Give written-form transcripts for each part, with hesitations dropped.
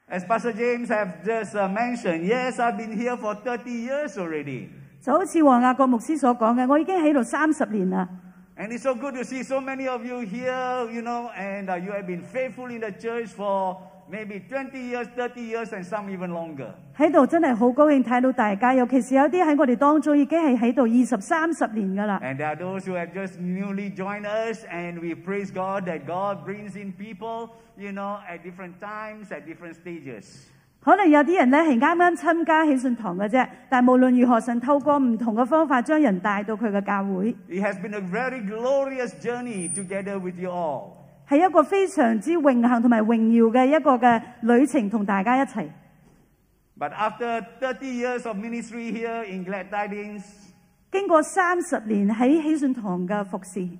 As Pastor James have just mentioned, yes, I've been here for 30 years already. 就好似黃亞國牧師所講嘅，我已經喺度30年啦。 And it's so good to see so many of you here, and you have been faithful in the church for maybe 20 years, 30 years, and some even longer. 喺度真係好高興睇到大家，尤其是有啲喺我哋當中已經係喺度20、30年㗎啦。 And there are those who have just newly joined us, and we praise God that God brings in people, at different times, at different stages. 可能有啲人咧係啱啱參加喜信堂嘅啫，但無論如何，神透過唔同嘅方法將人帶到佢嘅教會。 It has been a very glorious journey together with you all. 係一個非常之榮幸同埋榮耀嘅一個嘅旅程，同大家一齊。 But after 30 years of ministry here in Glad Tidings, 經過30年喺喜信堂嘅服侍，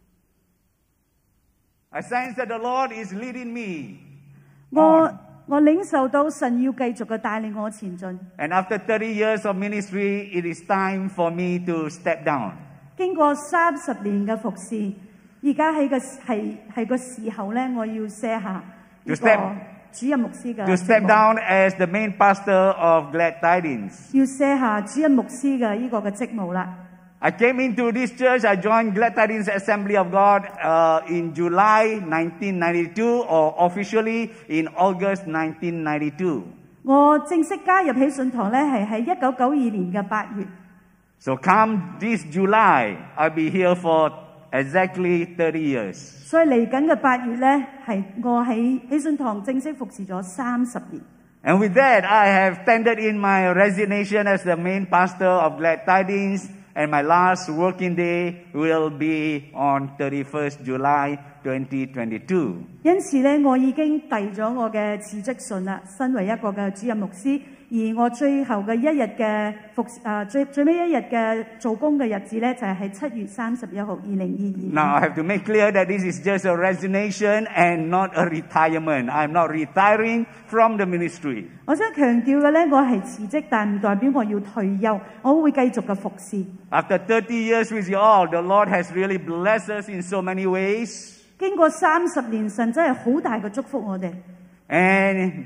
I sense that the Lord is leading me. 我領受到神要繼續嘅帶領我前進。 And after 30 years of ministry, it is time for me to step down. 經過30年嘅服侍，而家係個時候咧，我要卸下呢個主任牧師嘅 To step down as the main pastor of Glad Tidings. 要卸下主任牧師嘅呢個嘅職務啦。 I came into this church, I joined Glad Tidings Assembly of God in July 1992 or officially in August 1992. 我正式加入喜信堂咧，係喺1992年嘅8月。 So come this July, I'll be here for exactly 30 years. 所以嚟緊嘅8月咧，係我喺喜信堂正式服侍咗30年。 And with that, I have tendered in my resignation as the main pastor of Glad Tidings, and my last working day will be on 31st July 2022. 因此咧，我已經遞咗我嘅辭職信啦，身為一個嘅主任牧師。而我最後嘅一日嘅最尾一日嘅做工嘅日子咧，就係喺7月31號2022年。 Now, I have to make clear that this is just a resignation and not a retirement. I'm not retiring from the ministry. 我想強調嘅咧，我係辭職，但唔代表我要退休，我會繼續嘅服侍。 After 30 years with you all, the Lord has really blessed us in so many ways. 經過30年，神真係好大嘅祝福我哋。 And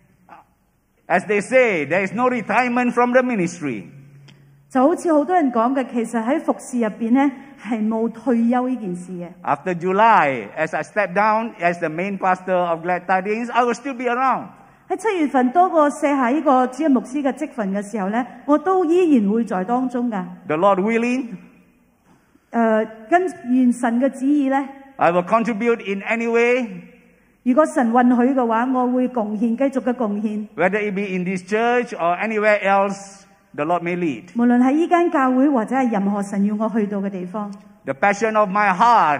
as they say, there is no retirement from the ministry. 就好似好多人講嘅，其實喺服侍入邊咧係冇退休呢件事嘅。 After July, as I step down as the main pastor of Glad Tidings, I will still be around. 喺7月份多個卸下呢個主任牧師嘅職份嘅時候咧，我都依然會在當中㗎。 The Lord willing, 跟完神嘅旨意咧， I will contribute in any way, 如果神允許嘅話，我會貢獻，繼續嘅貢獻。 whether it be in this church or anywhere else the Lord may lead. 無論喺呢間教會或者係任何神要我去到嘅地方， The passion of my heart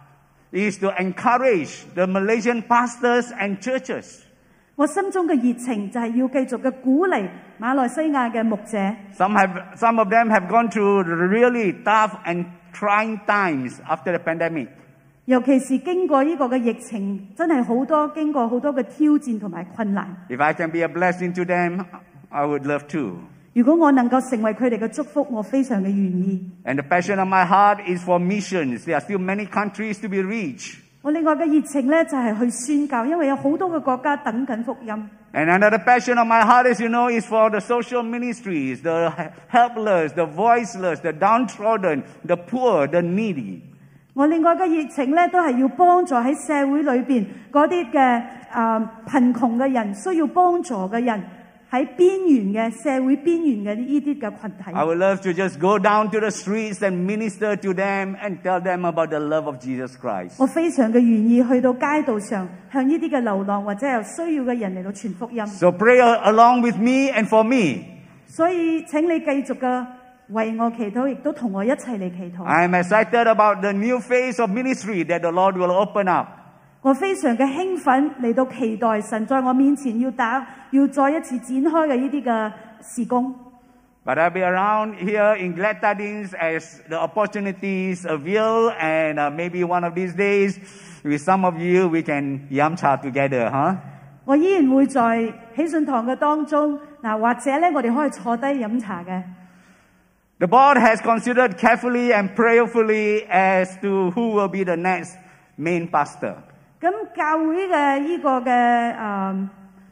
is to encourage the Malaysian pastors and churches. 我心中嘅熱情就係要繼續嘅鼓勵馬來西亞嘅牧者。 Some of them have gone through really tough and trying times after the pandemic. 尤其是經過呢個嘅疫情，真係經過好多嘅挑戰同埋困難。 If I can be a blessing to them, I would love to. 如果我能夠成為佢哋嘅祝福，我非常嘅願意。 And the passion of my heart is for missions. There are still many countries to be reached. 我另外嘅熱情咧就係去宣教，因為有好多嘅國家等緊福音。 And another passion of my heart, as you know, is for the social ministries, the helpless, the voiceless, the downtrodden, the poor, the needy. 我另外嘅熱情咧，都係要幫助喺社會裏邊嗰啲嘅貧窮嘅人，需要幫助嘅人，喺邊緣嘅社會邊緣嘅呢啲嘅群體。 I would love to just go down to the streets and minister to them and tell them about the love of Jesus Christ. 我非常嘅願意去到街道上，向呢啲嘅流浪或者有需要嘅人嚟到傳福音。 So pray along with me and for me. 所以請你繼續嘅為我祈禱，亦都同我一齊嚟祈禱。 I am excited about the new phase of ministry that the Lord will open up. 我非常嘅興奮嚟到期待神在我面前要再一次展開嘅呢啲嘅事工。 But I'll be around here in Glad Tidings as the opportunities avail, and maybe one of these days, with some of you, we can yum cha together, huh? 我依然會在喜信堂嘅當中，或者咧我哋可以坐低飲茶嘅。 The board has considered carefully and prayerfully as to who will be the next main pastor. 咁教會嘅呢個嘅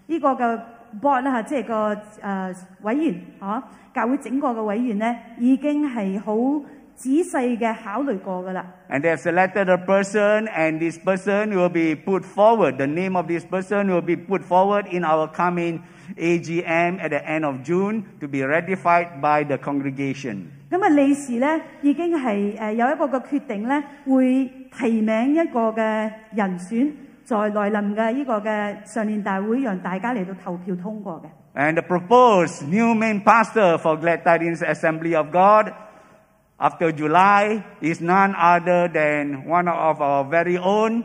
呢個嘅 board 啦，即係個委員教會整個嘅委員咧，已經係好仔細嘅考慮過㗎啦。 And they have selected a person, and this person will be put forward. The name of this person will be put forward in our coming AGM at the end of June to be ratified by the congregation. 咁啊，理事咧已經係有一個嘅決定咧，會提名一個嘅人選，在來臨嘅呢個嘅常年大會，讓大家嚟到投票通過嘅。 And the proposed new main pastor for Glad Tidings Assembly of God after July is none other than one of our very own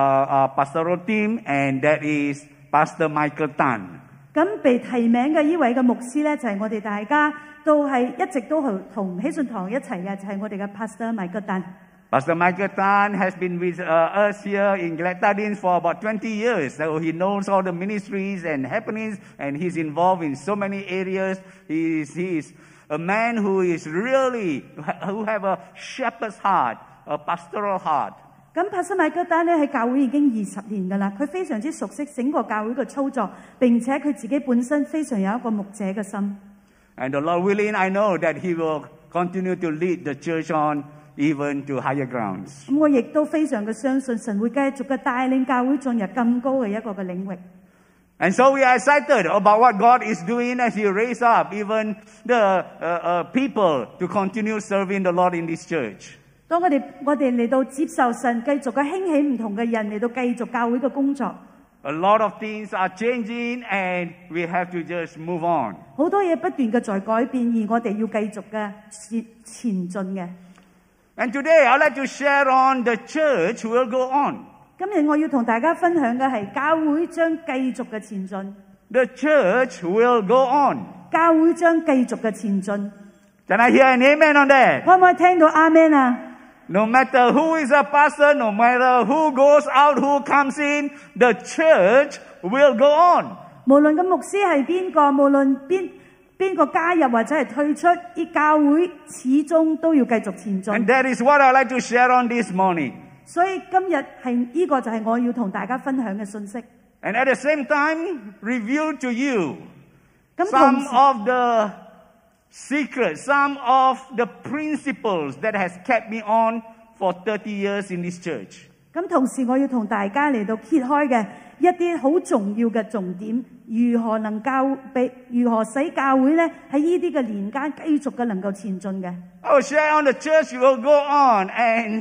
pastoral team, and that is Pastor Michael Tan. 咁被提名嘅呢位嘅牧師咧，就係我哋大家都係一直都同喜信堂一齊嘅，就係我哋嘅 Pastor Michael Tan。 Pastor Michael Tan has been with us here in Glad Tidings for about 20 years. So he knows all the ministries and happenings, and he's involved in so many areas. He is a man who is really, who have a shepherd's heart, a pastoral heart. 咁 Pastor Michael Tan 咧喺教會已經20年㗎啦，佢非常之熟悉整個教會嘅操作，並且佢自己本身非常有一個牧者嘅心。 And the Lord willing, I know that he will continue to lead the church on even to higher grounds. 咁我亦都非常嘅相信神會繼續嘅帶領教會進入更高嘅一個嘅領域。 And so we are excited about what God is doing as He raise up even the people to continue serving the Lord in this church. 當我哋嚟到接受神繼續嘅興起唔同嘅人嚟到繼續教會嘅工作。 A lot of things are changing, and we have to just move on. 好多嘢不斷嘅在改變，而我哋要繼續嘅前進嘅。 And today I'd like to share on the church will go on. 今日我要同大家分享嘅係教會將繼續嘅前進。 The church will go on. 教會將繼續嘅前進。 Can I hear an amen on that? 可唔可以聽到阿們啊？ No matter who is a pastor, no matter who goes out, who comes in, the church will go on. 無論個牧師係邊個，無論邊個加入或者係退出，啲教會始終都要繼續前進。 And that is what I'd like to share on this morning. 所以今日係呢個就係我要同大家分享嘅信息。 And at the same time, reveal to you 咁 some of the secrets, some of the principles that has kept me on for 30 years in this church. 咁同時我要同大家嚟到揭開嘅一啲好重要嘅重點，如何使教會咧喺呢啲嘅年間繼續嘅能夠前進嘅。 I will share on the church will go on and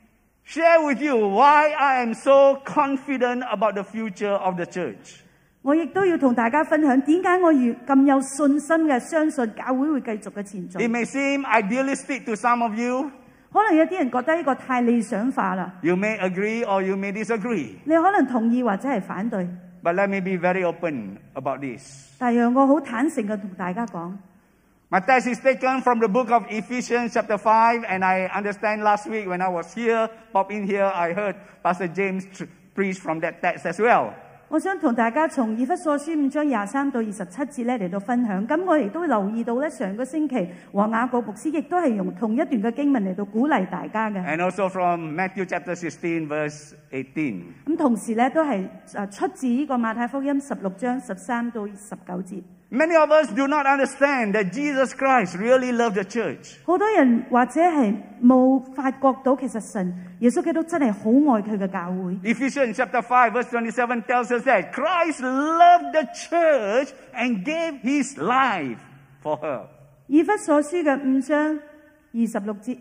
share with you why I am so confident about the future of the church. 我亦都要同大家分享點解我咁有信心嘅相信教會會繼續嘅前進。 It may seem idealistic to some of you. 可能有啲人覺得呢個太理想化啦。 You may agree or you may disagree. 你可能同意或者係反對。 But let me be very open about this. 但讓我好坦誠嘅同大家講。 My text is taken from the book of Ephesians chapter 5, and I understand last week when I was here, pop in here, I heard Pastor James preach from that text as well. 我想同大家從以弗所書5章23到27節咧嚟到分享。咁我亦都留意到咧，上個星期黃雅各牧師亦都係用同一段嘅經文嚟到鼓勵大家嘅。 And also from Matthew chapter 16 verse 18. 咁同時咧都係出自呢個馬太福音16章13到19節。 Many of us do not understand that Jesus Christ really loved the church. 好多人或者係冇發覺到，其實神耶穌基督真係好愛佢嘅教會。 Ephesians chapter 5 verse 27 tells us that Christ loved the church and gave his life for her. 以弗所書嘅5章26節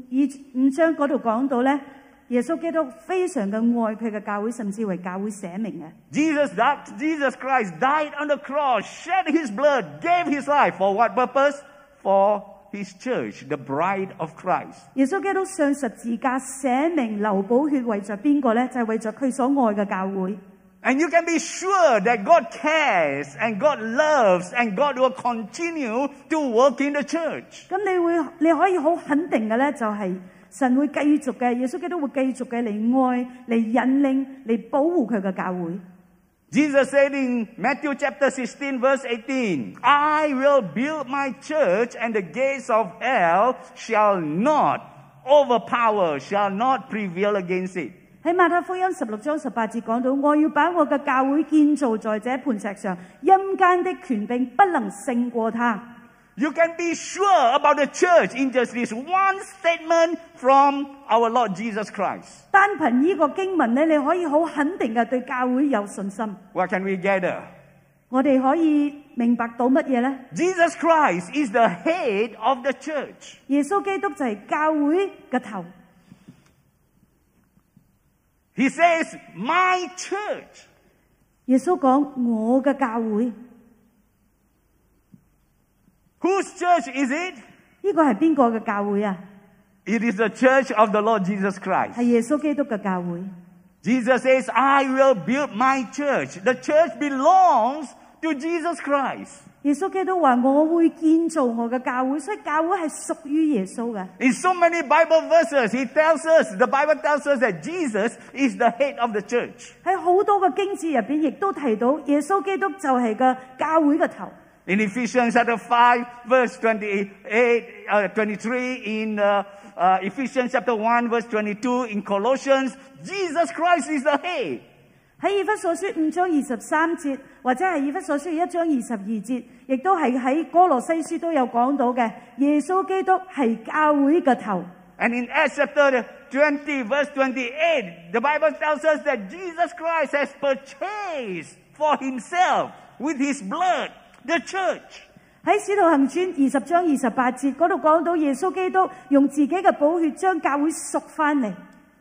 ，5章嗰度講到咧，耶穌基督非常嘅愛佢嘅教會，甚至為教會捨命嘅。 Jesus Christ died on the cross, shed his blood, gave his life for what purpose? For his church, the bride of Christ. 耶穌基督上十字架捨命流寶血，為着邊個咧？就係為着佢所愛嘅教會。 And you can be sure that God cares and God loves and God will continue to work in the church. 咁你可以好肯定嘅咧，就係神會繼續嘅，耶穌基督會繼續嘅嚟愛、嚟引領、嚟保護佢嘅教會。 Jesus said in Matthew chapter 16 verse 18, I will build my church and the gates of hell shall not overpower, shall not prevail against it. 喺馬太福音16章18節講到，我要把我嘅教會建造在這磐石上，陰間的權柄不能勝過它。 You can be sure about the church in just this one statement from our Lord Jesus Christ. 單憑呢個經文咧，你可以好肯定嘅對教會有信心。 What can we gather? 我哋可以明白到乜嘢呢？ Jesus Christ is the head of the church. 耶穌基督就係教會嘅頭。 He says, my church. 耶穌講我嘅教會。 Whose church is it? 呢個係邊個嘅教會啊？ It is the church of the Lord Jesus Christ. 係耶穌基督嘅教會。 Jesus says, I will build my church. The church belongs to Jesus Christ. 耶穌基督話我會建造我嘅教會，所以教會係屬於耶穌嘅。 In so many Bible verses, the Bible tells us that Jesus is the head of the church. 喺好多嘅經節入邊，亦都提到耶穌基督就係個教會嘅頭。 In Ephesians chapter 5, verse 23, in Ephesians chapter 1, verse 22, in Colossians, Jesus Christ is the head. 喺以弗所書5章23節，或者係以弗所書1章22節，亦都係喺哥羅西書都有講到嘅，耶穌基督係教會嘅頭。 And in Acts chapter 20, verse 28, the Bible tells us that Jesus Christ has purchased for himself with his blood the church. 喺使徒行傳20章28節嗰度講到耶穌基督用自己嘅寶血將教會贖翻嚟。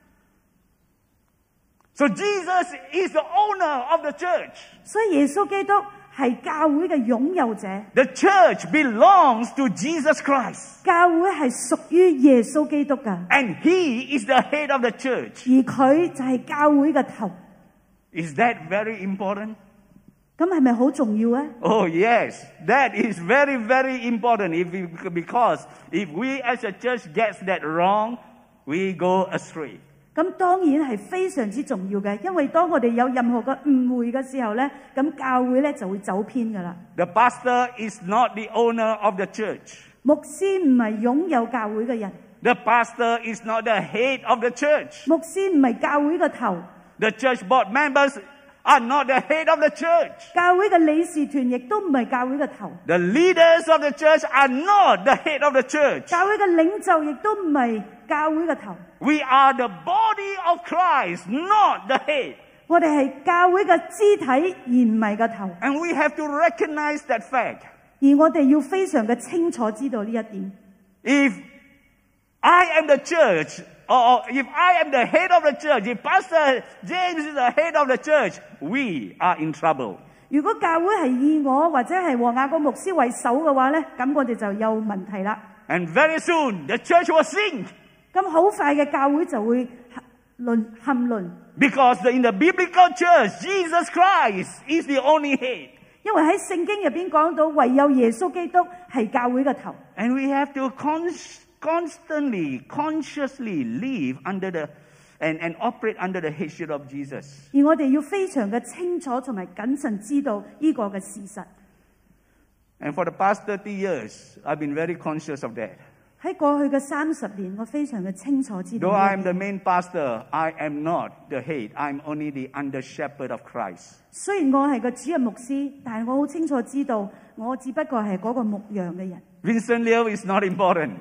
So Jesus is the owner of the church. 所以耶穌基督係教會嘅擁有者。 The church belongs to Jesus Christ. 教會係屬於耶穌基督嘅。 And he is the head of the church. 而佢就係教會嘅頭。 Is that very important? 咁係咪好重要咧？ Oh yes, that is very, very important. Because if we as a church gets that wrong, we go astray. 咁當然係非常之重要嘅，因為當我哋有任何嘅誤會嘅時候咧，咁教會咧就會走偏噶啦。 The pastor is not the owner of the church. 牧師唔係擁有教會嘅人。 The pastor is not the head of the church. 牧師唔係教會嘅頭。 The church board members are not the head of the church. 教會嘅理事團亦都唔係教會嘅頭。 The leaders of the church are not the head of the church. 教會嘅領袖亦都唔係教會嘅頭。 We are the body of Christ, not the head. 我哋係教會嘅肢體，而唔係個頭。 And we have to recognize that fact. 而我哋要非常嘅清楚知道呢一點。 If I am the church, or if I am the head of the church, if Pastor James is the head of the church, we are in trouble. 如果教會係以我或者係和雅各牧師為首嘅話咧，咁我哋就有問題啦。 And very soon the church will sink. 咁好快嘅教會就會陷淪。 Because in the biblical church, Jesus Christ is the only head. 因為喺聖經入邊講到，唯有耶穌基督係教會嘅頭。 And we have to constantly, consciously live under the and operate under the headship of Jesus. 而我哋要非常嘅清楚同埋謹慎知道呢個嘅事實。 And for the past 30 years, I've been very conscious of that. 喺過去嘅30年，我非常嘅清楚知道。 Though I am the main pastor, I am not the head. I'm only the under shepherd of Christ. 雖然我係個主任牧師，但係我好清楚知道，我只不過係嗰個牧羊嘅人。 Vincent Liu is not important.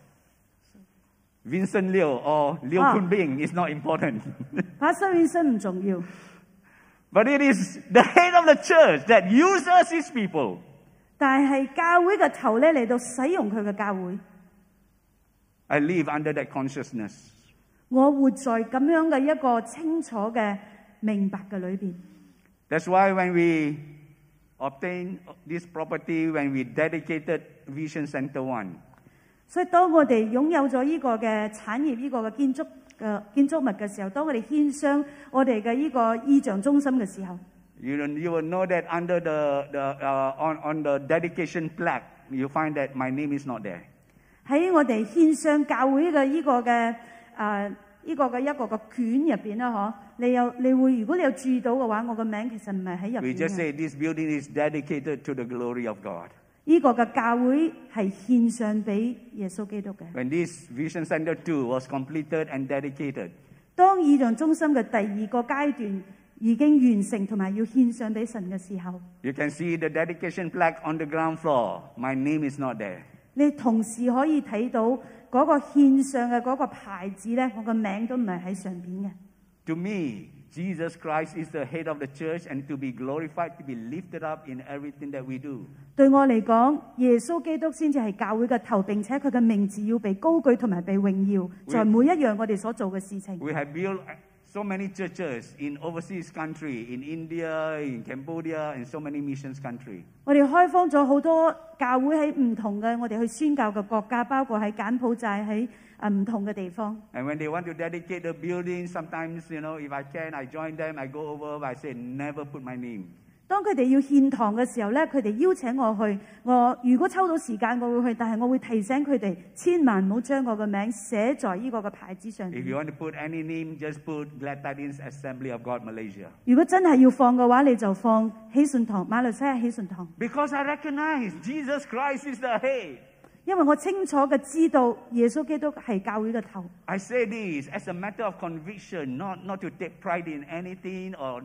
Vincent Liu or Liu Kunbing is not important. Pastor Vincent 唔重要。 But it is the head of the church that uses his people. 但係教會嘅頭咧嚟到使用佢嘅教會。 I live under that consciousness. 我活在咁樣嘅一個清楚嘅明白嘅裏邊。 That's why when we obtained this property, when we dedicated Vision Center 1, 所以當我哋擁有咗呢個嘅產業、呢個嘅建築物嘅時候，當我哋獻上我哋嘅呢個意象中心嘅時候， you will know that under on the dedication plaque, you find that my name is not there. 喺我哋獻上教會嘅呢個嘅呢個嘅一個嘅卷入邊啦，嗬，你會如果你有注意到嘅話，我個名其實唔係喺入邊嘅。 We just say this building is dedicated to the glory of God. 呢個嘅教會係獻上俾耶穌基督嘅。 When this Vision Center 2 was completed and dedicated, 當異象中心嘅第二個階段已經完成同埋要獻上俾神嘅時候， You can see the dedication plaque on the ground floor. My name is not there. 你同時可以睇到嗰個獻上嘅嗰個牌子咧，我個名都唔係喺上邊嘅。 To me, Jesus Christ is the head of the church and to be glorified, to be lifted up in everything that we do. 對我嚟講，耶穌基督先至係教會嘅頭，並且佢嘅名字要被高舉同埋被榮耀，在每一樣我哋所做嘅事情。 We have built so many churches in overseas country, in India, in Cambodia, and so many missions country. 我哋開荒咗好多教會喺唔同嘅我哋去宣教嘅國家，包括喺柬埔寨喺唔同嘅地方。 And when they want to dedicate the building, sometimes, if I can, I join them, I go over, but I say, never put my name. 當佢哋要獻堂嘅時候咧，佢哋邀請我去，我如果抽到時間我會去，但係我會提醒佢哋，千萬唔好將我嘅名寫在呢個嘅牌子上。 If you want to put any name, just put Glad Tidings Assembly of God Malaysia. 如果真係要放嘅話，你就放喜信堂，馬來西亞喜信堂。 Because I recognize Jesus Christ is the head. 因為我清楚嘅知道耶穌基督係教會嘅頭。 I say this as a matter of conviction, not to take pride in anything or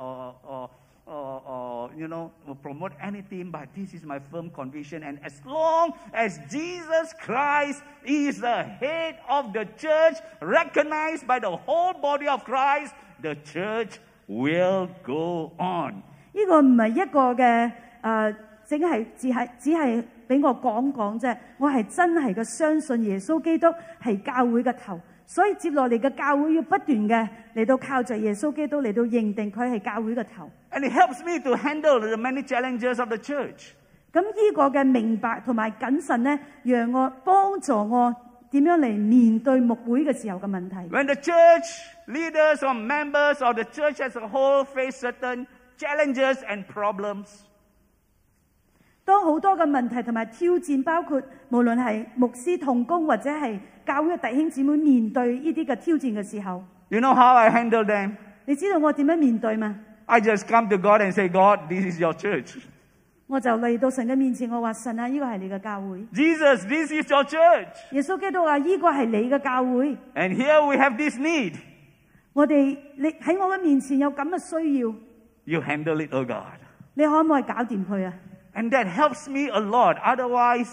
promote anything, but this is my firm conviction. And as long as Jesus Christ is the head of the church, recognized by the whole body of Christ, the church will go on. 呢個唔係一個嘅只係俾我講講啫，我係真係嘅相信耶穌基督係教會嘅頭，所以接落嚟嘅教會要不斷嘅嚟到靠着耶穌基督嚟到認定佢係教會嘅頭。 And it helps me to handle the many challenges of the church. 咁呢個嘅明白同埋謹慎咧，讓我幫助我點樣嚟面對牧會嘅時候嘅問題。 When the church leaders or members or the church as a whole face certain challenges and problems, 當好多嘅問題同埋挑戰，包括無論係牧師同工或者係教會嘅弟兄姊妹面對呢啲嘅挑戰嘅時候， you know how I handle them? 你知道我點樣面對嗎？ I just come to God and say, God, this is your church. 我就嚟到神嘅面前，我話神啊，呢個係你嘅教會。 Jesus, this is your church. 耶穌基督話呢個係你嘅教會。 And here we have this need. 你喺我嘅面前有咁嘅需要， You handle it, oh God. 你可唔可以搞掂佢啊？ And that helps me a lot. Otherwise,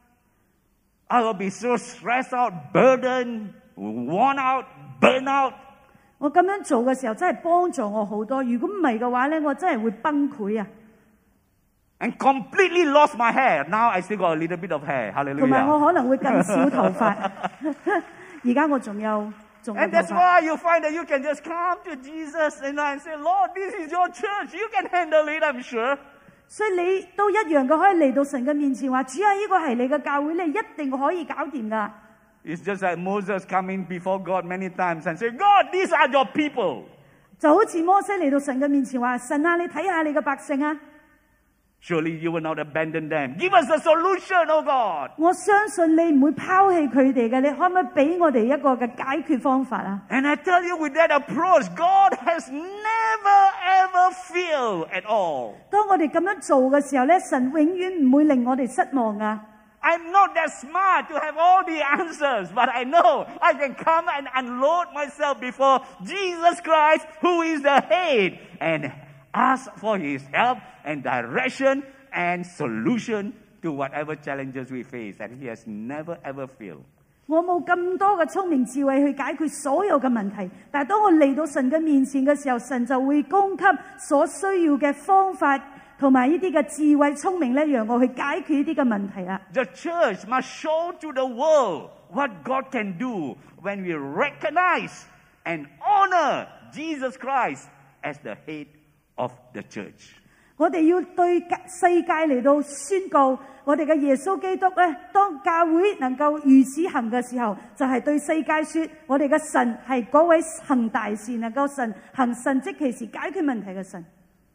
I will be so stressed out, burdened, worn out, burnt out. 我咁樣做嘅時候真係幫助我好多。如果唔係嘅話咧，我真係會崩潰啊！ And completely lost my hair. Now I still got a little bit of hair. 同埋我 Hallelujah. 可能會更少頭髮。而家我仲有頭 And that's 髮。 why you find that you can just come to Jesus and say, Lord, this is your church. You can handle it, I'm sure. 所以你都一樣嘅可以嚟到神嘅面前話：主啊，呢個係你嘅教會，你一定可以搞掂㗎。 It's just like Moses coming before God many times and say, God, these are your people. 就好似摩西嚟到神嘅面前話：神啊，你睇下你嘅百姓啊！ Surely you will not abandon them. Give us a solution, oh God. 我相信你唔會拋棄佢哋嘅，你可唔可以俾我哋一個嘅解決方法啊？ And I tell you, with that approach, God has never ever failed at all. 當我哋咁樣做嘅時候咧，神永遠唔會令我哋失望啊！ I'm not that smart to have all the answers, but I know I can come and unload myself before Jesus Christ, who is the head, and ask for His help and direction and solution to whatever challenges we face. And He has never ever failed. 我冇咁多嘅聰明智慧去解決所有嘅問題，但係當我嚟到神嘅面前嘅時候，神就會供給所需要嘅方法同埋呢啲嘅智慧聰明咧，讓我去解決呢啲嘅問題啊！ The church must show to the world what God can do when we recognize and honor Jesus Christ as the head of the church. 我哋要對世界嚟到宣告，我哋嘅耶穌基督咧，當教會能夠如此行嘅時候，就係對世界說，我哋嘅神係嗰位行大事、能夠行神蹟奇事解決問題嘅神。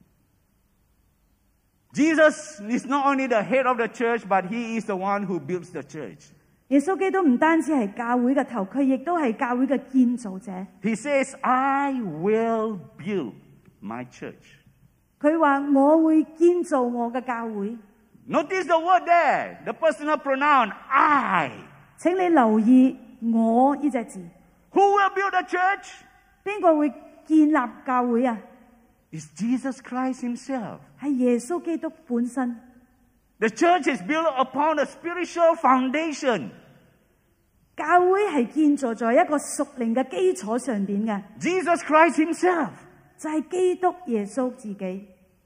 Jesus is not only the head of the church, but He is the one who builds the church. 耶穌基督唔單止係教會嘅頭，佢亦都係教會嘅建造者。 He says, I will build my church. 佢話我會建造我嘅教會。 Notice the word there, the personal pronoun, I. 請你留意我呢隻字。 Who will build the church? 邊個會建立教會啊？ It's Jesus Christ himself. 係耶穌基督本身。 The church is built upon a spiritual foundation. 教會係建造在一個屬靈嘅基礎上邊嘅， Jesus Christ himself. 就係基督耶穌自己。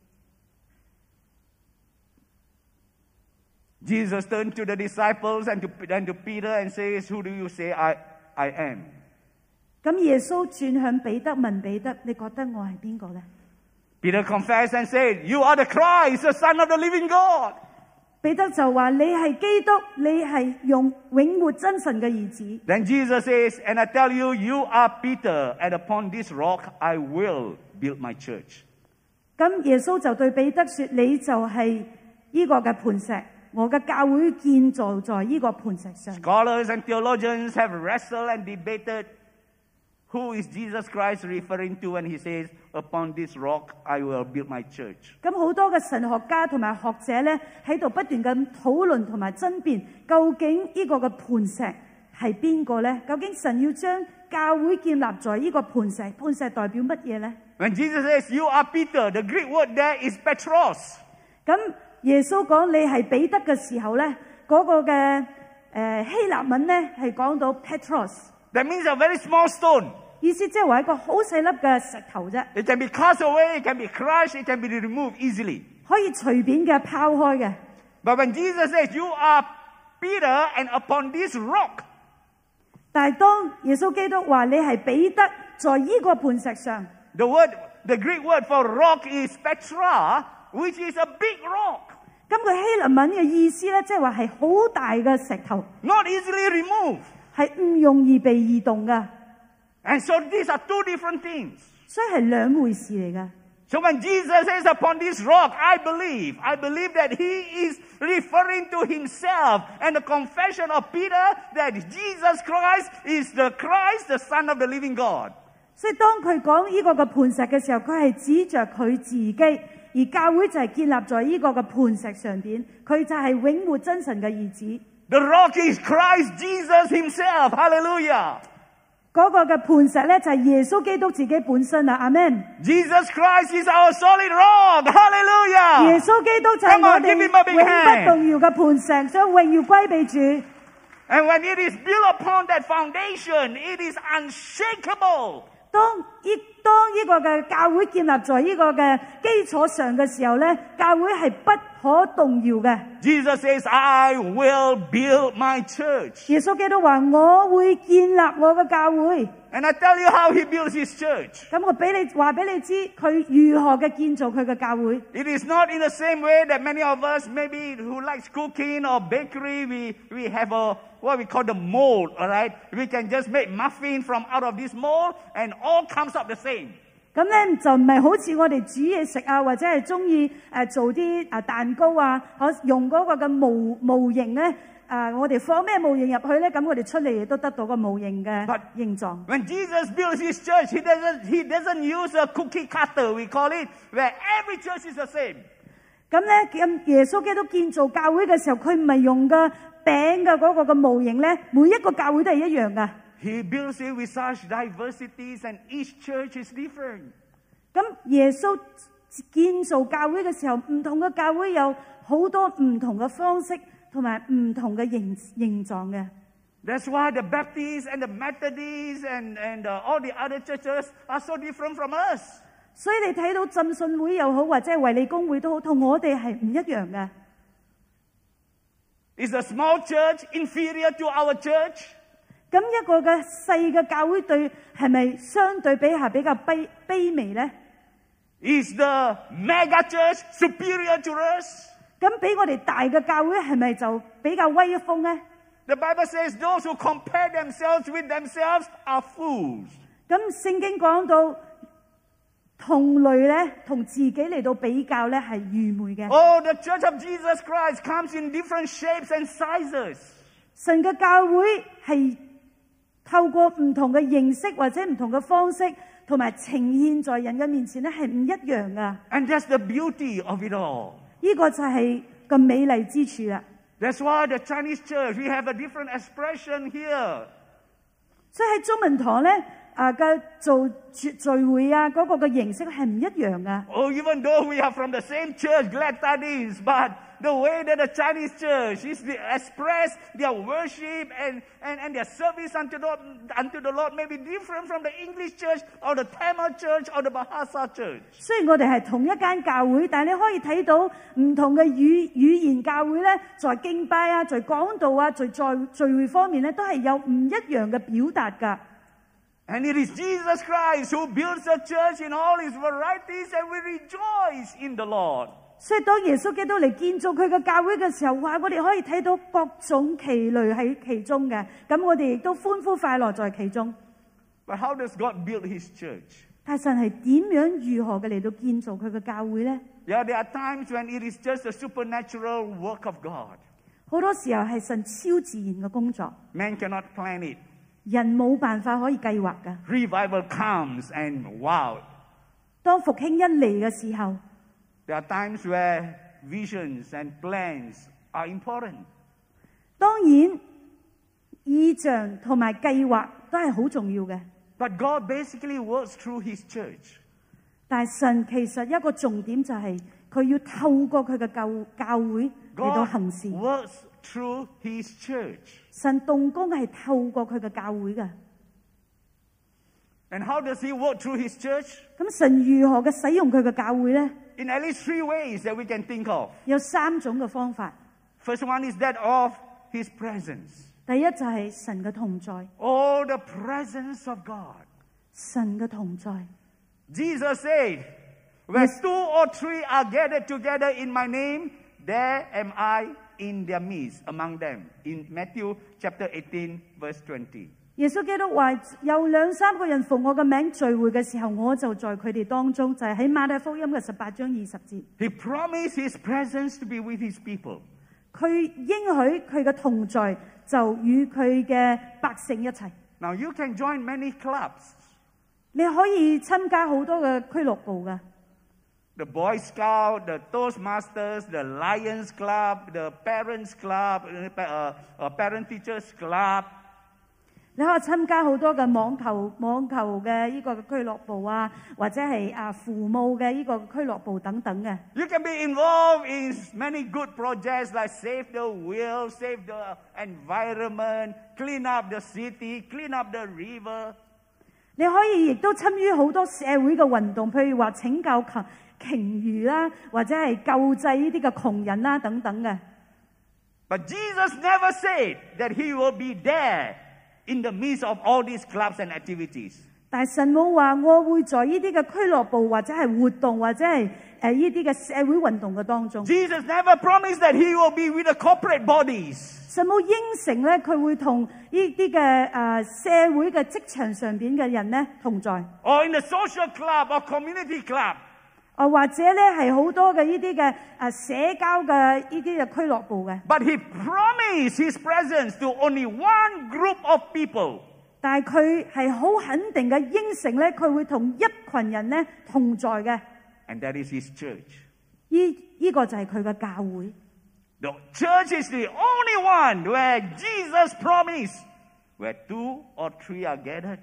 Jesus turned to the disciples and to Peter and says, "Who do you say I am?" 咁耶穌轉向彼得問彼得：你覺得我係邊個呢？ Peter confessed and said, "You are the Christ, the Son of the living God." 彼得就話：你係基督，你係永活真神嘅兒子。 Then Jesus says, "And I tell you, you are Peter, and upon this rock I will build my church." 咁耶穌就對彼得說：你就係呢個嘅磐石，我嘅教會建造在呢個磐石上。 Scholars and theologians have wrestled and debated who is Jesus Christ referring to when he says, "Upon this rock I will build my church." 咁好多嘅神學家同埋學者咧喺度不斷咁討論同埋爭辯，究竟呢個嘅磐石係邊個咧？究竟神要將教會建立在呢個磐石，磐石代表乜嘢咧？ When Jesus says, "You are Peter," the Greek word there is Petros. 咁耶穌講你係彼得嘅時候咧，嗰、個嘅希臘文咧係講到 Petros， That means a very small stone. 意思即係話一個好細粒嘅石頭啫， It can be cast away, it can be crushed, it can be removed easily. 可以隨便嘅拋開嘅。 But when Jesus says, "You are Peter, and upon this rock," 但係當耶穌基督話你係彼得，在呢個磐石上， the Greek word for rock is Petra, which is a big rock, 咁佢希臘文嘅意思咧，即係話係好大嘅石頭， not easily removed. 係唔容易被移動噶， And so these are two different things. 所以係兩回事嚟噶。 So when Jesus says, "Upon this rock," I believe that he is referring to himself and the confession of Peter that Jesus Christ is the Christ, the Son of the living God. 所以當佢講呢個嘅磐石嘅時候，佢係指着佢自己，而教會就係建立在呢個嘅磐石上邊，佢就係永活真神嘅兒子。 The rock is Christ Jesus himself. Hallelujah. 嗰個嘅磐石咧就係耶穌基督自己本身啊，阿們。 Jesus Christ is our solid rock. Hallelujah. 耶穌基督就係 Come 我 on, 哋 give him a big 永不 hand. 動搖嘅磐石，所以榮耀歸俾主。 And when it is built upon that foundation, it is unshakable. 當呢個嘅教會建立在呢個嘅基礎上嘅時候咧，教會係不可動搖嘅。 Jesus says, "I will build my church." 耶穌基督話：我會建立我嘅教會。 And I tell you how he builds his church. 咁我話俾你知，佢如何嘅建造佢嘅教會。 It is not in the same way that many of us, maybe who likes cooking or bakery, we have what we call the mold, all right? We can just make muffin from out of this mold and all comes up the same. 咁咧就唔係好似我哋煮嘢食啊，或者係中意做啲蛋糕啊，用嗰個嘅模型咧。我哋放咩模型入去咧？咁我哋出嚟亦都得到個模型嘅形狀。 When Jesus builds his church, he doesn't use a cookie cutter, we call it, where every church is the same. 咁咧，耶穌基督建造教會嘅時候，佢唔係用個餅嘅嗰個嘅模型咧，每一個教會都係一樣噶。 He builds it with such diversities, and each church is different. 咁耶穌建造教會嘅時候，唔同嘅教會有好多唔同嘅方式。同埋唔同嘅形狀嘅。 That's why the Baptists and the Methodists and all the other churches are so different from us. 所以你睇到浸信會又好，或者係衛理公會都好，同我哋係唔一樣嘅。 Is a small church inferior to our church? 咁一個嘅細嘅教會對係咪相對比下比較卑微咧 Is the mega church superior to us? 咁比我哋大嘅教會係咪就比較威風咧 The Bible says those who compare themselves with themselves are fools. 咁聖經講到同類咧，同自己嚟到比較咧係愚昧嘅。 Oh, the church of Jesus Christ comes in different shapes and sizes. 神嘅教會係透過唔同嘅形式或者唔同嘅方式，同埋呈現在人嘅面前咧係唔一樣噶。 And that's the beauty of it all. 呢個就係個美麗之處啦。 That's why the Chinese church, we have a different expression here. 所以喺中文堂咧， 嘅做聚會啊，嗰個嘅形式係唔一樣噶。 Oh, even though we are from the same church, Glad Tidings, but the way that the Chinese church is express their worship and their service unto the Lord may be different from the English church or the Tamil church or the Bahasa church. 雖然我哋係同一間教會，但係你可以睇到唔同嘅語言教會咧，在敬拜啊，在講道啊，在聚會方面咧，都係有唔一樣嘅表達噶。 And it is Jesus Christ who builds the church in all its varieties, and we rejoice in the Lord. 所以當耶穌基督嚟建造佢嘅教會嘅時候，哇！我哋可以睇到各種奇類喺其中嘅，咁我哋亦都歡呼快樂在其中。 But how does God build His church? 但神係點樣如何嘅嚟到建造佢嘅教會呢？ Yeah, there are times when it is just a supernatural work of God. 好多時候係神超自然嘅工作， Man cannot plan it. 人冇辦法可以計劃嘅。 Revival comes and wow. 當復興一嚟嘅時候， There are times where visions and plans are important. 當然意象同埋計劃都係好重要嘅。 But God basically works through His church. 但係神其實一個重點就係佢要透過佢嘅教會嚟到 God 行事。 works through His church. 神動工係透過佢嘅教會嘅。 And how does He work through His church? 咁神如何嘅使用佢嘅教會呢？ In at least 3 ways that we can think of. 有3種嘅方法。 First one is that of His presence. 第一就係神嘅同在， Oh, the presence of God. 神嘅同在。 Jesus said, where 2 or 3 are gathered together in my name, there am I in their midst, among them. In Matthew chapter 18, verse 20. 耶穌基督話：有2、3個人奉我嘅名聚會嘅時候，我就在佢哋當中。就係喺馬太福音嘅18章20節。 He promised His presence to be with His people. 佢應許佢嘅同在就與佢嘅百姓一齊。 Now you can join many clubs. 你可以參加好多嘅俱樂部㗎。 The Boy Scout, the Toastmasters, the Lions Club, the Parents Club, Parent Teachers Club. 你可以參加好多嘅網球嘅呢個俱樂部啊，或者係父母嘅呢個俱樂部等等嘅。 You can be involved in many good projects like Save the Whale, Save the Environment, Clean up the city, Clean up the river. 你可以亦都參與好多社會嘅運動，譬如話拯救鯨魚啦，或者係救濟呢啲嘅窮人啦等等嘅。 But Jesus never said that He will be there in the midst of all these clubs and activities. 但係神冇話我會在呢啲嘅俱樂部或者係活動或者係呢啲嘅社會運動嘅當中。 Jesus never promised that He will be with the corporate bodies. 神冇應承咧，佢會同呢啲嘅社會嘅職場上邊嘅人咧同在。 Or in the social club or community club. 或者咧係好多嘅呢啲嘅社交嘅呢啲嘅俱樂部嘅。 But He promised His presence to only one group of people. 但係佢係好肯定嘅應承咧，佢會同一群人咧同在嘅。 And that is His church. 呢個就係佢嘅教會。 The church is the only one where Jesus promised, where 2 or 3 are gathered,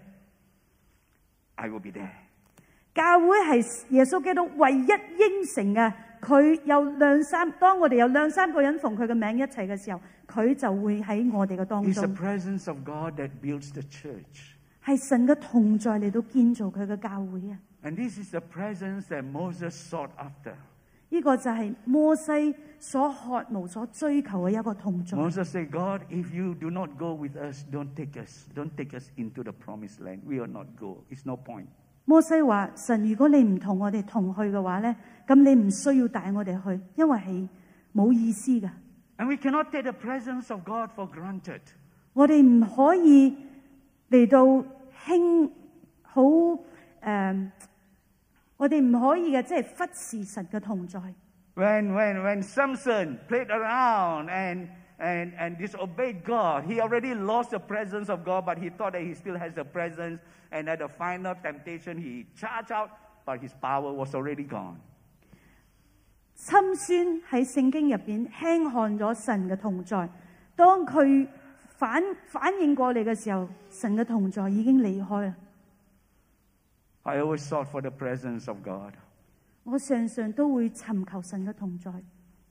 I will be there. 教會係耶穌基督唯一應承嘅，佢有當我哋有2、3個人奉佢嘅名一齊嘅時候，佢就會喺我哋嘅當 It's the 中。 presence of God that builds the church. 係神嘅同在嚟到建造佢嘅教會啊！ And this is the presence that Moses sought after. 呢個就係摩西所渴慕、所追求嘅一個同在。 Moses said, God, if you do not go with us, don't take us into the promised land. We will not go. It's no point. 摩西話：神，如果你唔同我哋同去嘅話咧，咁你唔需要帶我哋去，因為係冇意思嘅。 And we cannot take the presence of God for granted. 我哋唔可以嚟到我哋唔可以嘅，即係忽視神嘅同在。 When Samson played around and disobeyed God, he already lost the presence of God, but he thought that he still has the presence. And at the final temptation, he charged out, but his power was already gone. 參孫喺聖經入邊輕看咗神嘅同在，當佢反應過嚟嘅時候，神嘅同在已經離開啦。 I always sought for the presence of God. 我常常都會尋求神嘅同在。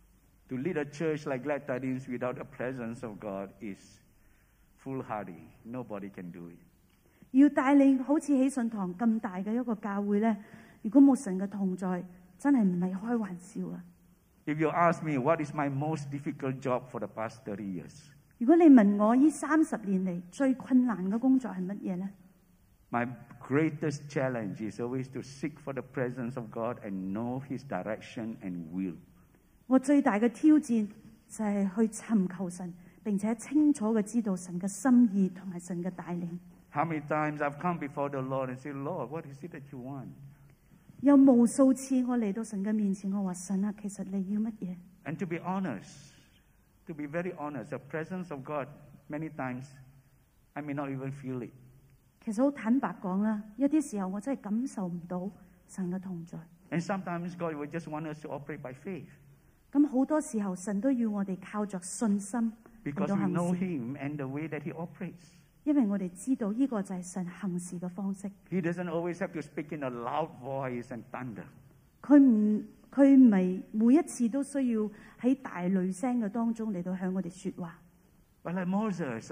To lead a church like Glad Tidings without the presence of God is foolhardy. Nobody can do it. 要帶領好似喜信堂咁大嘅一個教會呢，如果冇神嘅同在，真係唔係開玩笑啊！ If you ask me what is my most difficult job for the past 30 years, 如果你問我呢30年嚟最困難嘅工作係乜嘢呢？ my greatest challenge is always to seek for the presence of God and know His direction and will. 我最大嘅挑戰就係去尋求神，並且清楚嘅知道神嘅心意同埋神嘅帶領。 How many times I've come before the Lord and said, Lord, what is it that you want? 有無數次我嚟到神嘅面前，我話神啊，其實你要乜嘢？ And to be honest, to be very honest, the presence of God, many times, I may not even feel it. 其實好坦白講啦，一啲時候我真係感受唔到神嘅同在。 And sometimes God will just want us to operate by faith 咁好多時候神都要我哋靠着信心嚟 because 到 we 行 know 事， Him and the way that He operates. 因為我哋知道呢個就係神行事嘅方式。 He doesn't always have to speak in a loud voice and thunder. 佢唔係每一次都需要喺大雷聲嘅當中嚟到向我哋說話。 But like Moses,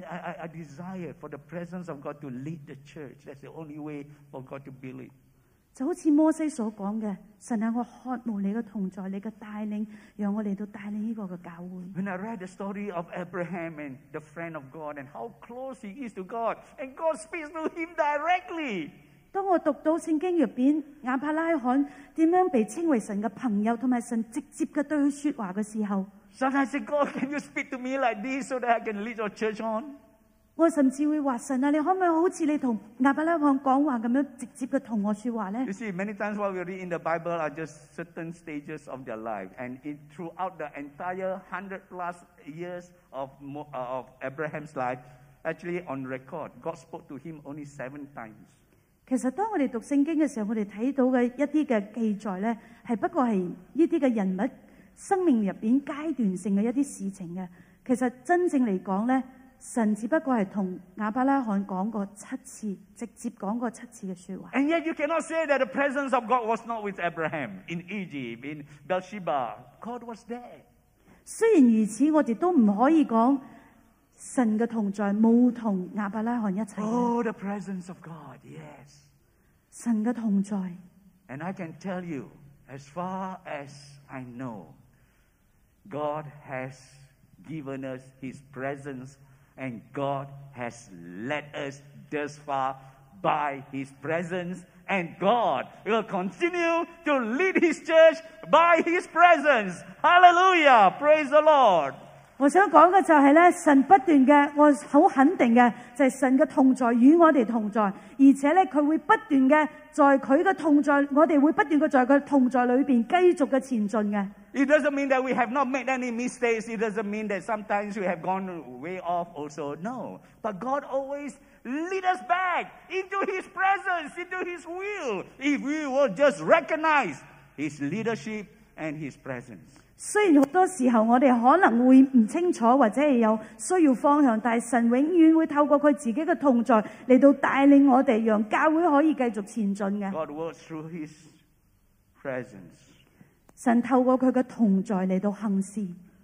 I desire for the presence of God to lead the church. That's the only way for God to build it. 就好似摩西所講嘅，神啊，我渴慕你嘅同在，你嘅帶領，讓我嚟到帶領呢個嘅教會。 When I read the story of Abraham and the friend of God and how close he is to God, and God speaks to him directly. 當我讀到聖經入邊亞伯拉罕點樣被稱為神嘅朋友，同埋神直接嘅對佢說話嘅時候， Sometimes I say, God, can you speak to me like this so that I can lead your church on? 我甚至會話神啊，你可唔可以好似你同亞伯拉罕講話咁樣直接嘅同我說話呢？ You see, many times what we read in the Bible are just certain stages of their life. And throughout the entire 100+ years of Abraham's life, actually on record, God spoke to him only 7 times. 其實當我哋讀聖經嘅時候，我哋睇到嘅一啲嘅記載呢，係不過係呢啲嘅人物生命入邊階段性嘅一啲事情嘅。其實真正嚟講呢，神只不過係同亞伯拉罕講過7次，直接講過7次嘅說話。 And yet you cannot say that the presence of God was not with Abraham in Egypt, in Beersheba. God was there. 雖然如此，我哋都唔可以講神嘅同在冇同亞伯拉罕一齊。 Oh, the presence of God, yes. 神嘅同在。 And I can tell you, as far as I know, God has given us His presence and God has led us thus far by His presence, and God will continue to lead His church by His presence. Hallelujah! Praise the Lord! 我想講嘅就係咧，神不斷嘅，我好肯定嘅就係神嘅同在與我哋同在，而且咧佢會不斷嘅在佢嘅同在，我哋會不斷嘅在佢同在裏邊繼續嘅前進嘅。 It doesn't mean that we have not made any mistakes. It doesn't mean that sometimes we have gone way off also. No. But God always lead us back into His presence, into His will, if we will just recognize His leadership and His presence. 雖然好多時候我哋可能會唔清楚或者係有需要方向，但係神永遠會透過佢自己嘅同在嚟到帶領我哋，讓教會可以繼續前進嘅。 God works through His presence. 神透過佢嘅同在嚟到行事。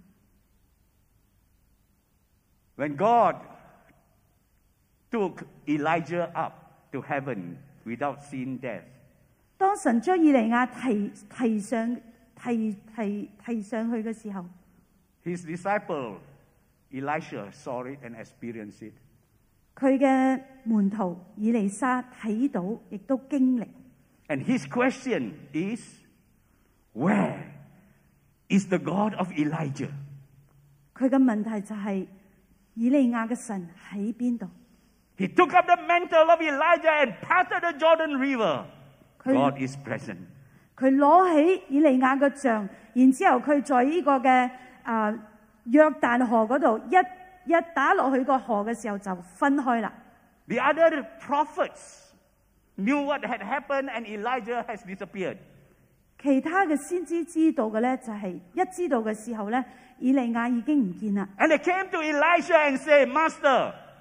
When God took Elijah up to heaven without seeing death, 當神將以利亞提上去嘅時候， His disciple Elisha saw it and experienced it. 佢嘅門徒以利沙睇到，亦都經歷。 And his question is, where is the God of Elijah? 佢嘅問題就係、以利亞嘅神喺邊度？ He took up the mantle of Elijah and parted the Jordan River. God is present. 佢攞起以利亞嘅杖，然之後佢在呢個嘅約旦河嗰度一打落去個河嘅時候就分開啦。 The other prophets knew what had happened and Elijah has disappeared. 其他嘅先知道嘅咧，就係、一知道嘅時候咧，以利亞已經唔見啦。 And they came to Elisha and said, Master,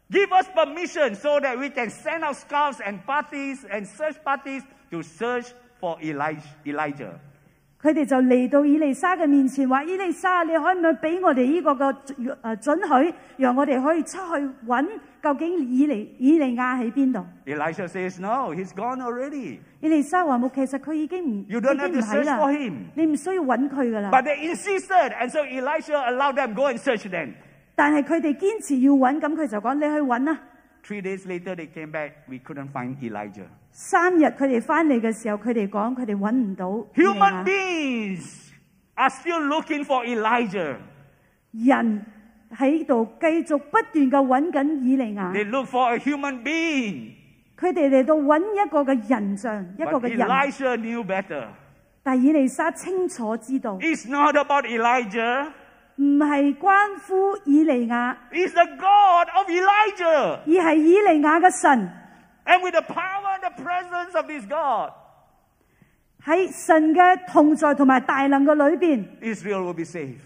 Give us permission so that we can send out scouts and parties and search parties to search for Elijah. 佢哋就嚟到以利沙嘅面前，話：以利沙，你可唔可以俾我哋呢個准許，讓我哋可以出去揾究竟以利亞喺邊度 Elijah says, "No, he's gone already. 以利沙話：冇，其實佢已經唔 You don't have to 喺 search 啦 for him." 你唔需要揾佢噶啦。 But they insisted, and so Elisha allowed them go and search them. 但係佢哋堅持要揾，咁佢就講：你去揾啦。 3 days later, they came back. We couldn't find Elijah. 3日佢哋翻嚟嘅時候，佢哋講佢哋揾唔到以利 Human 亞。 beings are still looking for Elijah. 人喺度繼續不斷嘅揾緊以利亞， They look for a human being. 佢哋嚟到揾一個嘅人像，一個 But 嘅人。 Elisha knew better. 但以利沙清楚知道， It's not about Elijah. 唔係關乎以利亞， It's the God of Elijah. 而係以利亞嘅神。 And with the power and the presence of this God, 喺神嘅同在同埋大能嘅裏邊， Israel will be saved.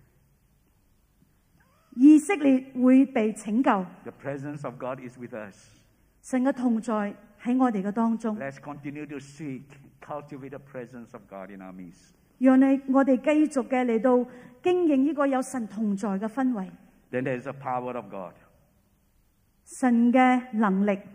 以色列會被拯救。 The presence of God is with us. 神嘅同在喺我哋嘅當中， Let's continue to seek, cultivate the presence of God in our midst. 讓我哋繼續嘅嚟到經營呢個有神同在嘅氛圍， Then there's the power of God. 神嘅能力。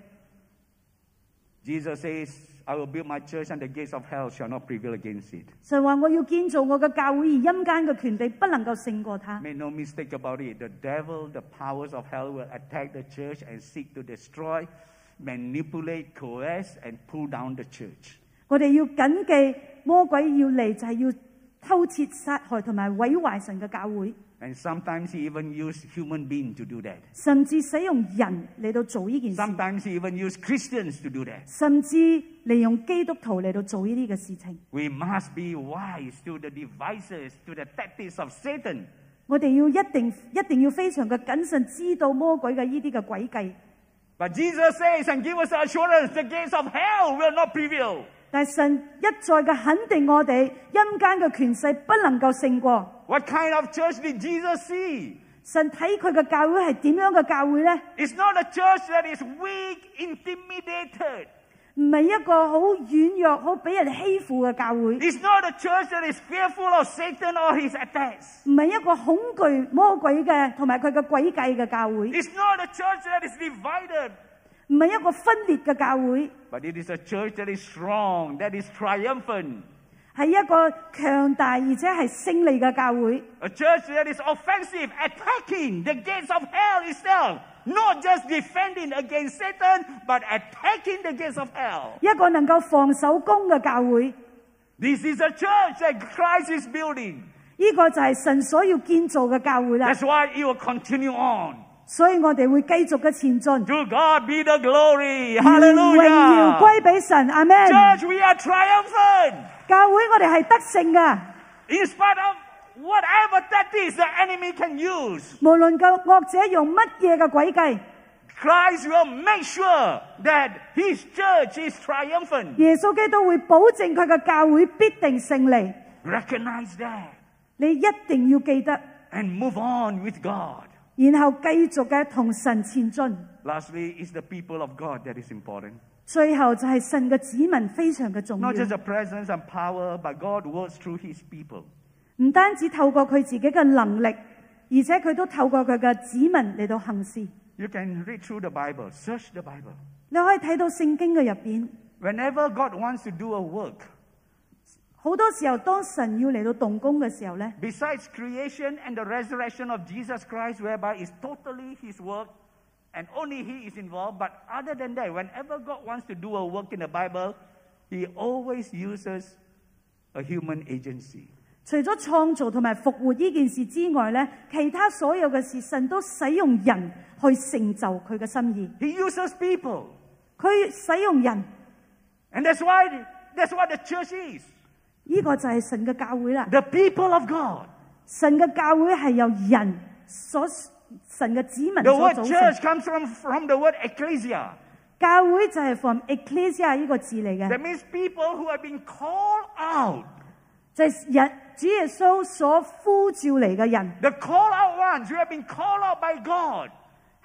Jesus says, I will build my church and the gates of hell shall not prevail against it. 神話我要建造我嘅教會，而陰間嘅權柄不能夠勝過他。 Make no mistake about it. The devil, the powers of hell will attack the church and seek to destroy, manipulate, coerce, and pull down the church. 我哋要謹記魔鬼要嚟就係要偷竊、殺害同埋毀壞神嘅教會， And sometimes he even use human beings to do that. 甚至使用人嚟到做呢件事， Sometimes he even use Christians to do that. 甚至利用基督徒嚟到做呢啲嘅事情。 We must be wise to the devices, to the tactics of Satan. 我哋要一定要非常嘅謹慎，知道魔鬼嘅呢啲嘅詭計。 But Jesus says and give us assurance, the gates of hell will not prevail. 但係神一再嘅肯定我哋，陰間嘅權勢不能夠勝過。 What kind of church did Jesus see? 神睇佢嘅教會係點樣嘅教會呢？ It's not a church that is weak, intimidated. 唔係一個好軟弱、好俾人欺負嘅教會， It's not a church that is fearful of Satan or his attacks. 唔係一個恐懼魔鬼嘅同埋佢嘅詭計嘅教會， It's not a church that is divided. 唔係一個分裂嘅教會， But it is a church that is strong, that is triumphant. 係一個強大而且係勝利嘅教會， A church that is offensive, attacking the gates of hell itself. Not just defending against Satan, but attacking the gates of hell. 一個能夠防守攻嘅教會。 This is a church that Christ is building. 呢個就係神所要建造嘅教會啦。 That's why it will continue on. 所以我哋會繼續嘅前進。 To God be the glory. 榮耀 Hallelujah. 歸俾神，阿們。 Church, we are triumphant. 教會我哋係得勝噶， In spite of whatever tactics the enemy can use, 無論個惡者用乜嘢嘅詭計， Christ will make sure that his church is triumphant. 耶穌基督會保證佢嘅教會必定勝利。 Recognize that 你一定要記得， and move on with God. 然後繼續嘅同神前進。 Lastly, it's the people of God that is important. 最後就係神嘅子民非常嘅重要， Not just the presence and power, but God works through his people. 唔單止透過佢自己嘅能力，而且佢都透過佢嘅子民嚟到行事。 You can read through the Bible, search the Bible. 你可以睇到聖經嘅入邊， Whenever God wants to do a work, 好多時候當神要嚟到動工嘅時候呢， besides creation and the resurrection of Jesus Christ, whereby it's totally his work and only he is involved, but other than that, whenever God wants to do a work in the Bible, he always uses a human agency. 除咗創造同埋復活呢件事之外呢，其他所有嘅事，神都使用人去成就佢嘅心意。 He uses people. 佢使用人， And that's what the church is. 呢個就係神嘅教會啦。 The people of God. 神嘅教會係由人神嘅子民 The 所 word 組 church 成。 comes from the word ecclesia. 教會就係 from ecclesia 呢個字嚟嘅， That means people who have been called out. 就係主耶穌所呼召嚟嘅人， The called out ones who have been called out by God. 係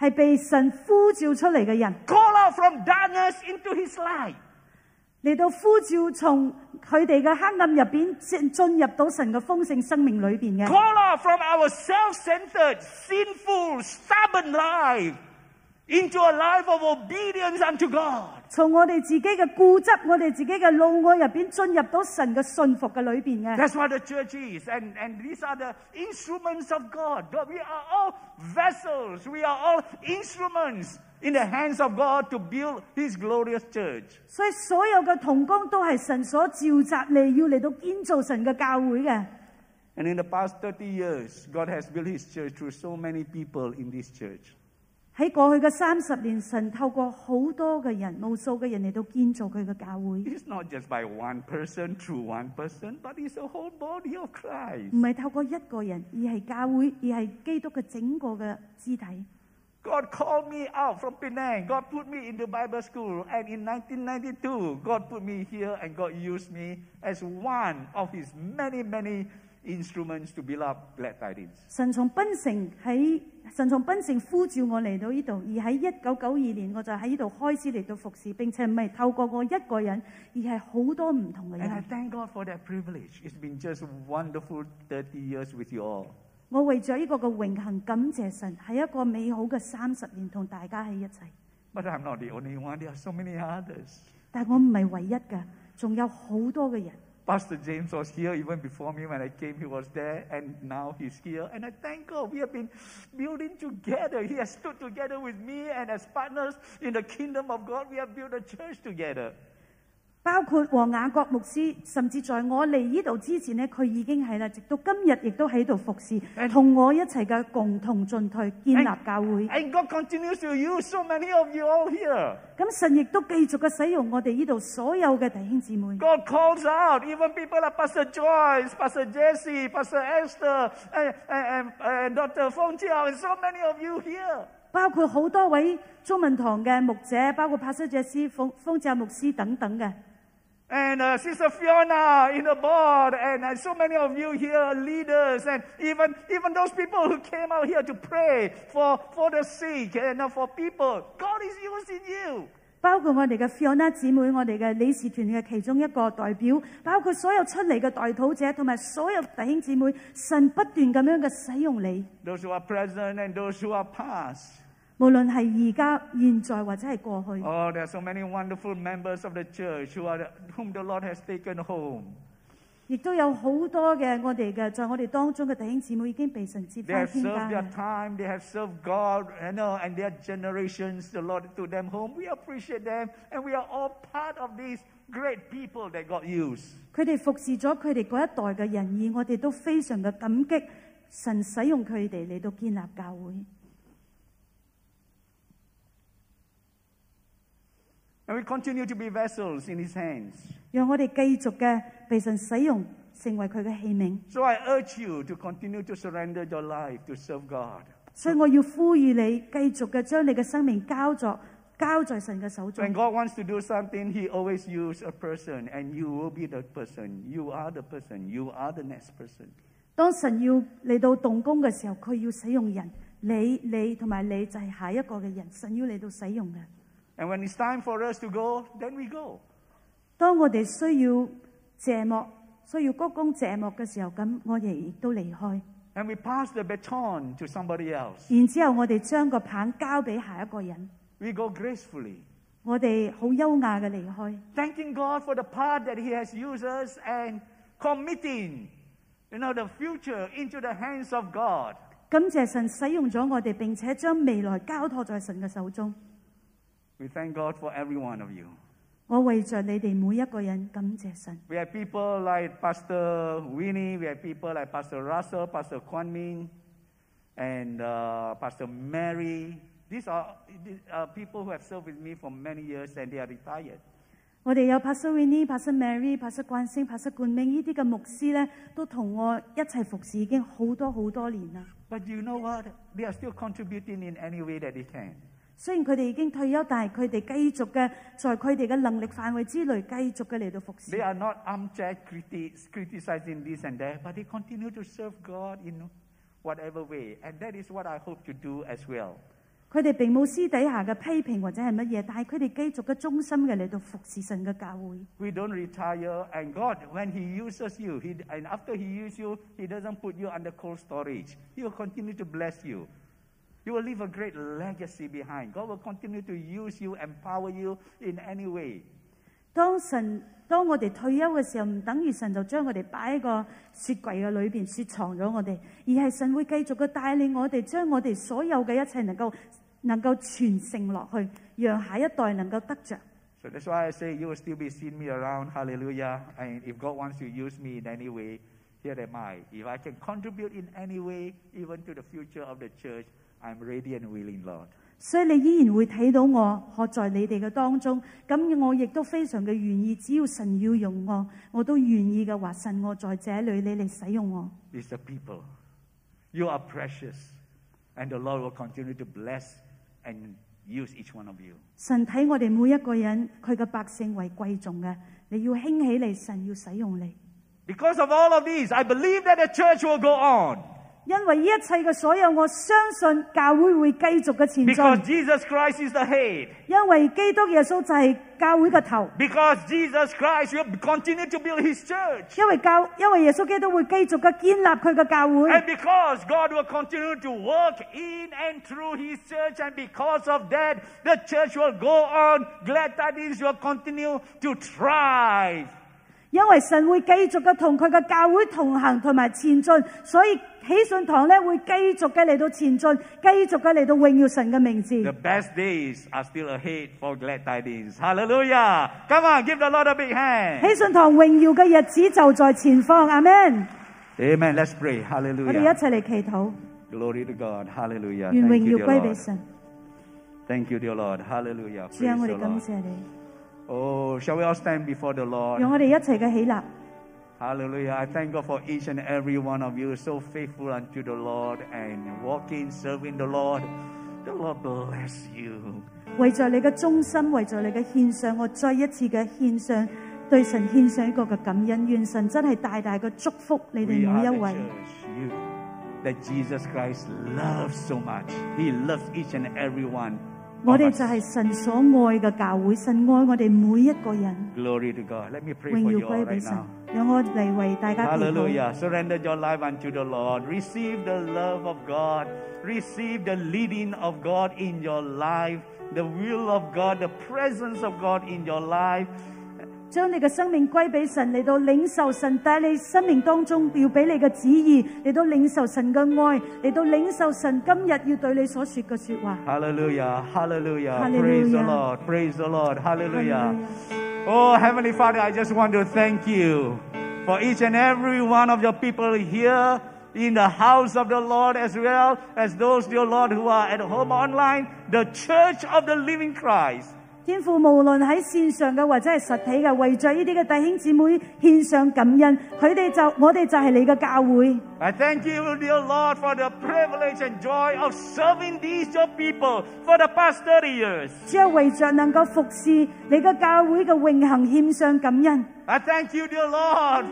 係被神呼召出嚟嘅人， call out from darkness into His light. 嚟到呼召從佢哋嘅黑暗入邊進入到神嘅豐盛生命裏邊嘅， Call out from our self-centered, sinful, stubborn life into a life of obedience unto God. 從我哋自己嘅固執、我哋自己嘅怒愛入邊進入到神嘅信服嘅裏邊嘅。 That's what the church is. And these are the instruments of God. We are all vessels. We are all instruments in the hands of God to build His glorious church. 所以所有嘅同工都係神所召集嚟，要嚟到建造神嘅教會嘅。 And in the past 30 years, God has built His church through so many people in this church. 喺過去嘅30年，神透過好多嘅人、無數嘅人嚟到建造佢嘅教會， It's not just by one person, through one person, but it's a whole body of Christ. 唔係透過一個人，而係教會，而係基督嘅整個嘅肢體。 God called me out from Penang. God put me in the Bible school. And in 1992, God put me here and God used me as one of His many, many instruments to build up Glad Tidings. 神從檳城呼召我嚟到呢度，而喺1992年我就喺呢度開始嚟到服侍，並且唔係透過我一個人，而係好多唔同嘅 And I 人。 thank God for that privilege. It's been just wonderful 30 years with you all. 我為咗呢個嘅榮幸感謝神，係一個美好嘅30年同大家喺一齊。 But I'm not the only one. There are so many others. 但係我唔係唯一嘅，仲有好多嘅人。 Pastor James was here even before me when I came. He was there, and now he's here. And I thank God we have been building together. He has stood together with me, and as partners in the kingdom of God, we have built a church together. 包括和雅各牧師，甚至在我嚟呢度之前呢，佢已經係啦，直到今日亦都喺度服侍，同我一齊嘅共同進退，建立教會。 And God continues to use so many of you all here. 咁神亦都繼續嘅使用我哋呢度所有嘅弟兄姊妹。 God calls out even people like Pastor Joyce, Pastor Jesse, Pastor Esther, and Dr. Fong Chiao, and so many of you here. 包括好多位中文堂嘅牧者，包括帕斯謝師、豐澤牧師等等嘅。 And Sister Fiona in the board, and so many of you here, leaders, and even those people who came out here to pray for the sick and for people. God is using you. 包括我哋嘅 Fiona 姊妹，我哋嘅理事團嘅其中一個代表，包括所有出嚟嘅代禱者，同埋所有弟兄姊妹，神不斷咁樣嘅使用你。 Those who are present and those who are past. 無論係而家、現在或者係過去。 Oh, there are so many wonderful members of the church whom the Lord has taken home. 亦都有好多嘅我哋嘅，在我哋當中嘅弟兄姊妹已經被神接 They 返 have 天 served 家 their time, they have served God, and their generations, the Lord took them home. We appreciate them, and we are all part of these great people that God used. 佢哋服侍咗佢哋嗰一代嘅人，而我哋都非常嘅感激神使用佢哋嚟到建立教會。 And we continue to be vessels in His hands. 讓我哋繼續嘅被神使用，成為佢嘅器皿。 So I urge you to continue to surrender your life to serve God. 所以我要呼籲你繼續嘅將你嘅生命交在神嘅手中。 When God wants to do something, He always uses a person, and you will be the person. You are the person. You are the next person. 當神要嚟到動工嘅時候，佢要使用人，你同埋你就係下一個嘅人，神要嚟到使用嘅。 And when it's time for us to go, then we go. 當我哋需要謝幕、需要鞠躬謝幕嘅時候，咁我哋亦都離開。 And we pass the baton to somebody else. 然之後，我哋將個棒交俾下一個人， We go gracefully, 我哋好優雅嘅離開， thanking God for the part that He has used us and committing, the future into the hands of God. 感謝神使用咗我哋，並且將未來交託在神嘅手中。 We thank God for every one of you. 我為着你哋每一個人感謝神。 We have people like Pastor Winnie, we have people like Pastor Russell, Pastor Kwan Ming, and Pastor Mary. These are people who have served with me for many years and they are retired. 我哋有 Pastor Winnie、Pastor Mary、Pastor 冠星、Pastor 冠明呢啲嘅牧師咧，都同我一齊服侍已經好多年啦。 But you know what? They are still contributing in any way that they can. 雖然佢哋已經退休，但係佢哋繼續嘅在佢哋嘅能力範圍之內，繼續嘅嚟到服侍。 They are not armchair criticizing this and that, but they continue to serve God in whatever way. And that is what I hope to do as well. 佢哋並冇私底下嘅批評或者係乜嘢，但係佢哋繼續嘅忠心嘅嚟到服侍神嘅教會。 We don't retire, and God, when He uses you, and after He uses you, He doesn't put you under cold storage. He will continue to bless you. You will leave a great legacy behind. God will continue to use you, empower you in any way. 當我哋退休嘅時候，唔等於神就將我哋擺喺個雪櫃嘅裏邊雪藏咗我哋，而係神會繼續嘅帶領我哋，將我哋所有嘅一切能夠傳承落去，讓下一代能夠得着。 So that's why I say you will still be seeing me around. Hallelujah. And if God wants to use me in any way, here am I. If I can contribute in any way, even to the future of the church, I'm ready and willing, Lord. 所以你依然會睇到我，學在你哋嘅當中。咁我亦都非常嘅願意，只要神要用我，我都願意嘅話，神我在這裏，你嚟使用我。 It's the people. You are precious, and the Lord will continue to bless and use each one of you. 神睇我哋每一個人，佢嘅百姓為貴重嘅，你要興起嚟，神要使用你。 Because of all of these, I believe that the church will go on. 因為呢一切嘅所有，我相信教會會繼續嘅前進。 Because Jesus Christ is the head. 因為基督耶穌就係教會嘅頭。 Because Jesus Christ will continue to build His church. 因為耶穌基督會繼續嘅建立佢嘅教會。 And because God will continue to work in and through His church, and because of that, the church will go on. Glad Tidings will continue to thrive. 因為神會繼續嘅同佢嘅教會同行同埋前進，所以喜信堂咧會繼續嘅嚟到前進，繼續嘅嚟到榮耀神嘅名字。 The best days are still ahead for Glad Tidings. Hallelujah! Come on, give the Lord a big hand. 喜信堂榮耀嘅日子就在前方，阿們。 Amen. Let's pray. 我哋一 Hallelujah. 齊嚟祈禱， Glory to God. Hallelujah. 願 Thank 榮 you, 耀 dear 歸俾 Lord. 神。 Thank you, dear Lord. Hallelujah. 主啊， Praise 我 the 哋感 Lord. 謝你， Oh, shall we all stand before the Lord? 讓我哋一齊嘅起立。 Hallelujah. I thank God for each and every one of you, so faithful unto the Lord and walking, serving the Lord. The Lord bless you. 為咗你嘅忠心，為咗你嘅獻上，我再一次嘅獻上，對神獻上一個嘅感恩，願神真係大大嘅祝福你哋 We 每 are 一 the 位。 church, you, that Jesus Christ loves so much. He loves each and every one. 我 of 哋 us. 就係神所愛嘅教會，神愛我哋每一個人。 Glory to God. Let me pray 榮 for 耀 you 歸 all 俾 right 神 now.， 讓我嚟為大家祈禱。 Hallelujah. Surrender your life unto the Lord. Receive the love of God. Receive the leading of God in your life. The will of God, the presence of God in your life. 將你嘅生命歸俾神，嚟到領受神帶你生命當中要俾你嘅旨意，嚟到領受神嘅愛，嚟到領受神今日要對你所說嘅說話。 Hallelujah. Hallelujah. Hallelujah. Praise the Lord. Praise the Lord. Hallelujah. Oh, Heavenly Father, I just want to thank you for each and every one of your people here in the house of the Lord, as well as those, dear Lord, who are at home online, the Church of the Living Christ. 天父無論喺線上嘅或者係實體嘅，為着呢啲嘅弟兄姊妹獻上感恩，我哋就係你嘅教會。 I thank you, dear Lord, for the privilege and joy of serving these your people for the past 30 years. 只有為着能夠服侍你嘅教會嘅永恆獻上感恩。 I thank you, dear Lord,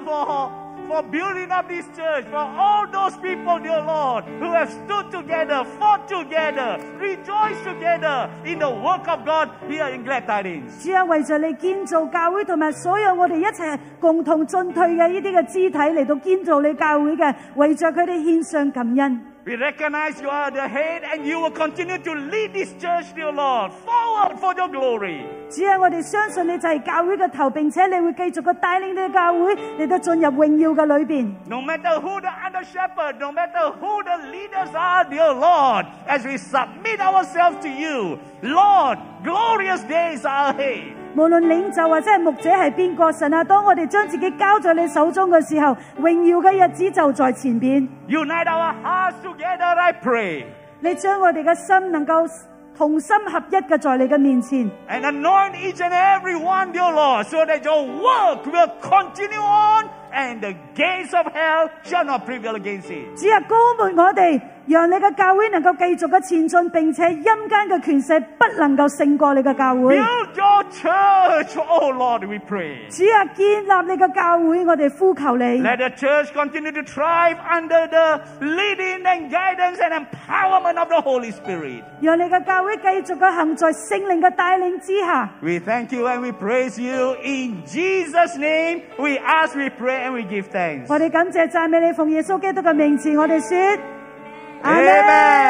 for building up this church, for all those people, dear Lord, who have stood together, fought together, rejoiced together in the work of God here in Glad Tidings. 主啊，為着你建造教會同埋所有我哋一齊共同進退嘅呢啲嘅肢體嚟到建造你教會嘅，為着佢哋獻上感恩。 We recognize you are the head and you will continue to lead this church, dear Lord, forward for your glory. 主啊，我哋相信你就係教會嘅頭，並且你會繼續嘅帶領你嘅教會嚟到進入榮耀嘅裏邊。 No matter who the under shepherd, no matter who the leaders are, dear Lord, as we submit ourselves to you, Lord, glorious days are ahead. 無論領袖或者係牧者係邊個，神啊，當我哋將自己交在你手中嘅時候，榮耀嘅日子就在前邊。 Unite our hearts together, I pray. 你將我哋嘅心能夠同心合一嘅在你嘅面前， And anoint each and every one, dear Lord, so that your work will continue on and the gates of hell shall not prevail against it. 主啊，膏抹我哋，讓你嘅教會能夠繼續嘅前進，並且陰間嘅權勢不能夠勝過你嘅教會。 Build your church, oh Lord, we pray. 主啊，建立你嘅教會，我哋呼求你。 Let the church continue to thrive under the leading and guidance and empowerment of the Holy Spirit. 讓你嘅教會繼續嘅行在聖靈嘅帶領之下。 We thank you and we praise you. In Jesus' name, we ask, we pray, and we give thanks. 我哋感謝讚美你，奉耶穌基督嘅名字，我哋說，阿們。 Amen.